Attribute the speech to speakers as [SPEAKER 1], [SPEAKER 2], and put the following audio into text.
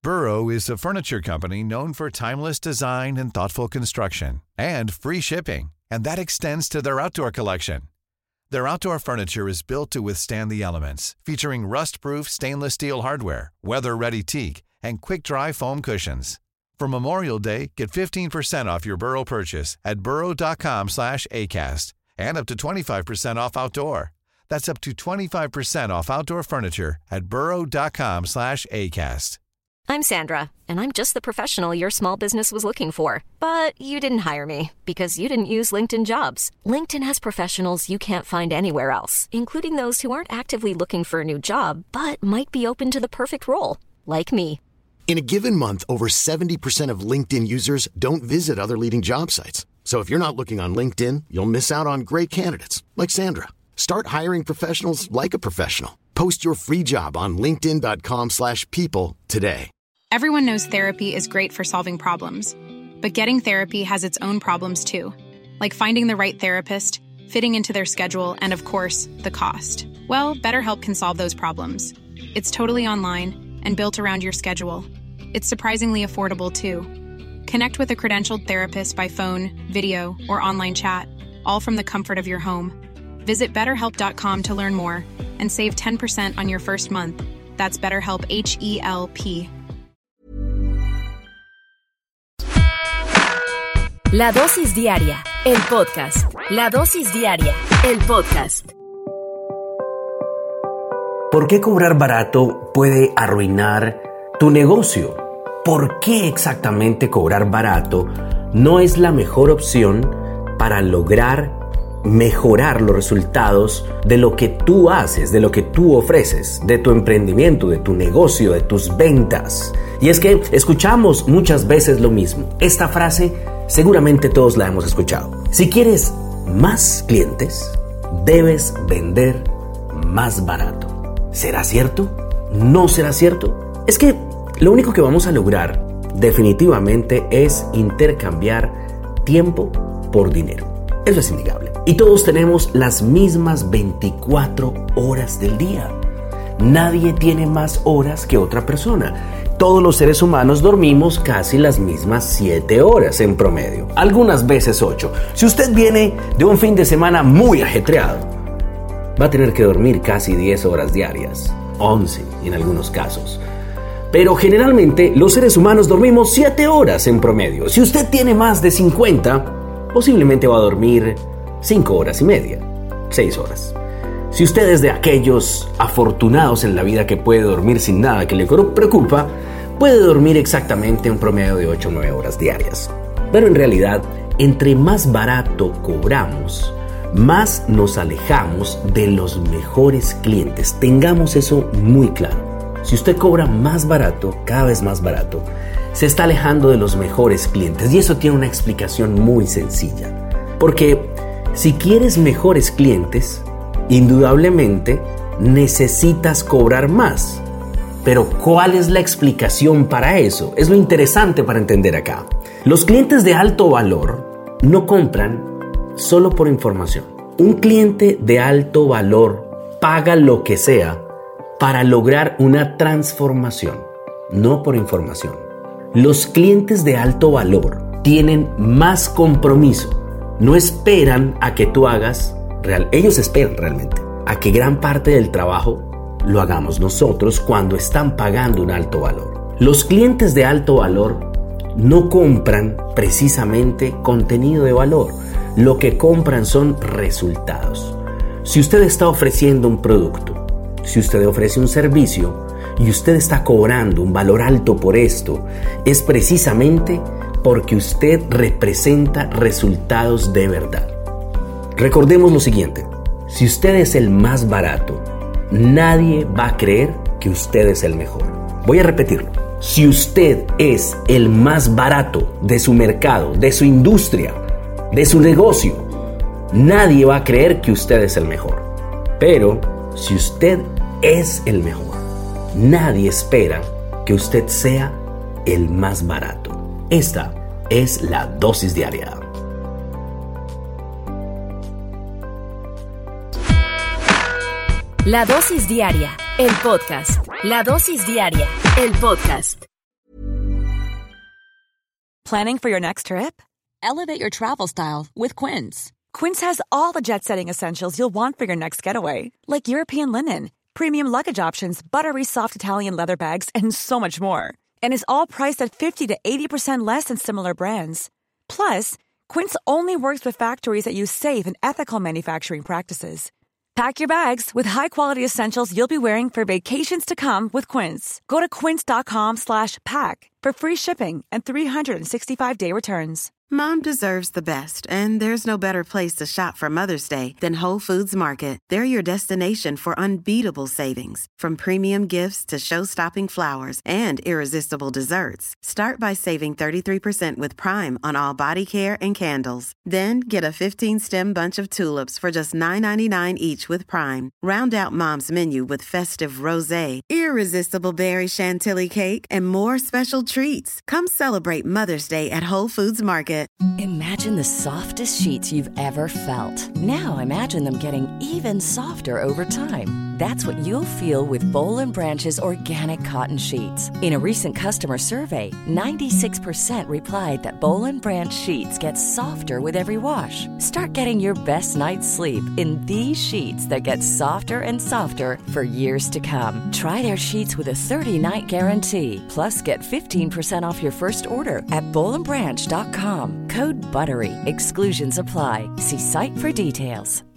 [SPEAKER 1] Burrow is a furniture company known for timeless design and thoughtful construction, and free shipping, and that extends to their outdoor collection. Their outdoor furniture is built to withstand the elements, featuring rust-proof stainless steel hardware, weather-ready teak, and quick-dry foam cushions. For Memorial Day, get 15% off your Burrow purchase at burrow.com/ACAST and up to 25% off outdoor. That's up to 25% off outdoor furniture at burrow.com/ACAST.
[SPEAKER 2] I'm Sandra, and I'm just the professional your small business was looking for. But you didn't hire me because you didn't use LinkedIn Jobs. LinkedIn has professionals you can't find anywhere else, including those who aren't actively looking for a new job, but might be open to the perfect role, like me.
[SPEAKER 3] In a given month, over 70% of LinkedIn users don't visit other leading job sites. So if you're not looking on LinkedIn, you'll miss out on great candidates like Sandra. Start hiring professionals like a professional. Post your free job on linkedin.com/people today.
[SPEAKER 4] Everyone knows therapy is great for solving problems, but getting therapy has its own problems too, like finding the right therapist, fitting into their schedule, and of course, the cost. Well, BetterHelp can solve those problems. It's totally online and built around your schedule. It's surprisingly affordable too. Connect with a credentialed therapist by phone, video, or online chat, all from the comfort of your home. Visit BetterHelp.com to learn more and save 10% on your first month. That's BetterHelp, H-E-L-P.
[SPEAKER 5] La dosis diaria, el podcast. La dosis diaria, el podcast.
[SPEAKER 6] ¿Por qué cobrar barato puede arruinar tu negocio? ¿Por qué exactamente cobrar barato no es la mejor opción para lograr mejorar los resultados de lo que tú haces, de lo que tú ofreces, de tu emprendimiento, de tu negocio, de tus ventas? Y es que escuchamos muchas veces lo mismo. Esta frase seguramente todos la hemos escuchado. Si quieres más clientes, debes vender más barato. ¿Será cierto? ¿No será cierto? Es que lo único que vamos a lograr definitivamente es intercambiar tiempo por dinero. Eso es innegable. Y todos tenemos las mismas 24 horas del día. Nadie tiene más horas que otra persona. Todos los seres humanos dormimos casi las mismas 7 horas en promedio. Algunas veces 8. Si usted viene de un fin de semana muy ajetreado, va a tener que dormir casi 10 horas diarias. 11 en algunos casos. Pero generalmente los seres humanos dormimos 7 horas en promedio. Si usted tiene más de 50, posiblemente va a dormir 5 horas y media, 6 horas. Si usted es de aquellos afortunados en la vida que puede dormir sin nada que le preocupa, puede dormir exactamente un promedio de 8 o 9 horas diarias. Pero en realidad, entre más barato cobramos, más nos alejamos de los mejores clientes. Tengamos eso muy claro. Si usted cobra más barato, cada vez más barato, se está alejando de los mejores clientes. Y eso tiene una explicación muy sencilla. Porque si quieres mejores clientes, indudablemente necesitas cobrar más. Pero ¿cuál es la explicación para eso? Es lo interesante para entender acá. Los clientes de alto valor no compran solo por información. Un cliente de alto valor paga lo que sea para lograr una transformación, no por información. Los clientes de alto valor tienen más compromiso. No esperan a que tú hagas ellos esperan realmente a que gran parte del trabajo lo hagamos nosotros cuando están pagando un alto valor. Los clientes de alto valor no compran precisamente contenido de valor. Lo que compran son resultados. Si usted está ofreciendo un producto, si usted ofrece un servicio y usted está cobrando un valor alto por esto, es precisamente porque usted representa resultados de verdad. Recordemos lo siguiente: si usted es el más barato, nadie va a creer que usted es el mejor. Voy a repetirlo. Si usted es el más barato de su mercado, de su industria, de su negocio, nadie va a creer que usted es el mejor. Pero si usted es el mejor, nadie espera que usted sea el más barato. Esta es la dosis diaria.
[SPEAKER 5] La dosis diaria, el podcast. La dosis diaria, el podcast.
[SPEAKER 7] Planning for your next trip? Elevate your travel style with Quince. Quince has all the jet-setting essentials you'll want for your next getaway, like European linen, premium luggage options, buttery soft Italian leather bags, and so much more. And is all priced at 50 to 80% less than similar brands. Plus, Quince only works with factories that use safe and ethical manufacturing practices. Pack your bags with high-quality essentials you'll be wearing for vacations to come with Quince. Go to quince.com/pack for free shipping and 365-day returns.
[SPEAKER 8] Mom deserves the best, and there's no better place to shop for Mother's Day than Whole Foods Market. They're your destination for unbeatable savings, from premium gifts to show-stopping flowers and irresistible desserts. Start by saving 33% with Prime on all body care and candles. Then get a 15-stem bunch of tulips for just $9.99 each with Prime. Round out Mom's menu with festive rosé, irresistible berry chantilly cake, and more special treats. Come celebrate Mother's Day at Whole Foods Market.
[SPEAKER 5] Imagine the softest sheets you've ever felt. Now imagine them getting even softer over time. That's what you'll feel with Boll & Branch's organic cotton sheets. In a recent customer survey, 96% replied that Boll & Branch sheets get softer with every wash. Start getting your best night's sleep in these sheets that get softer and softer for years to come. Try their sheets with a 30-night guarantee. Plus, get 15% off your first order at bollandbranch.com. Code BUTTERY. Exclusions apply. See site for details.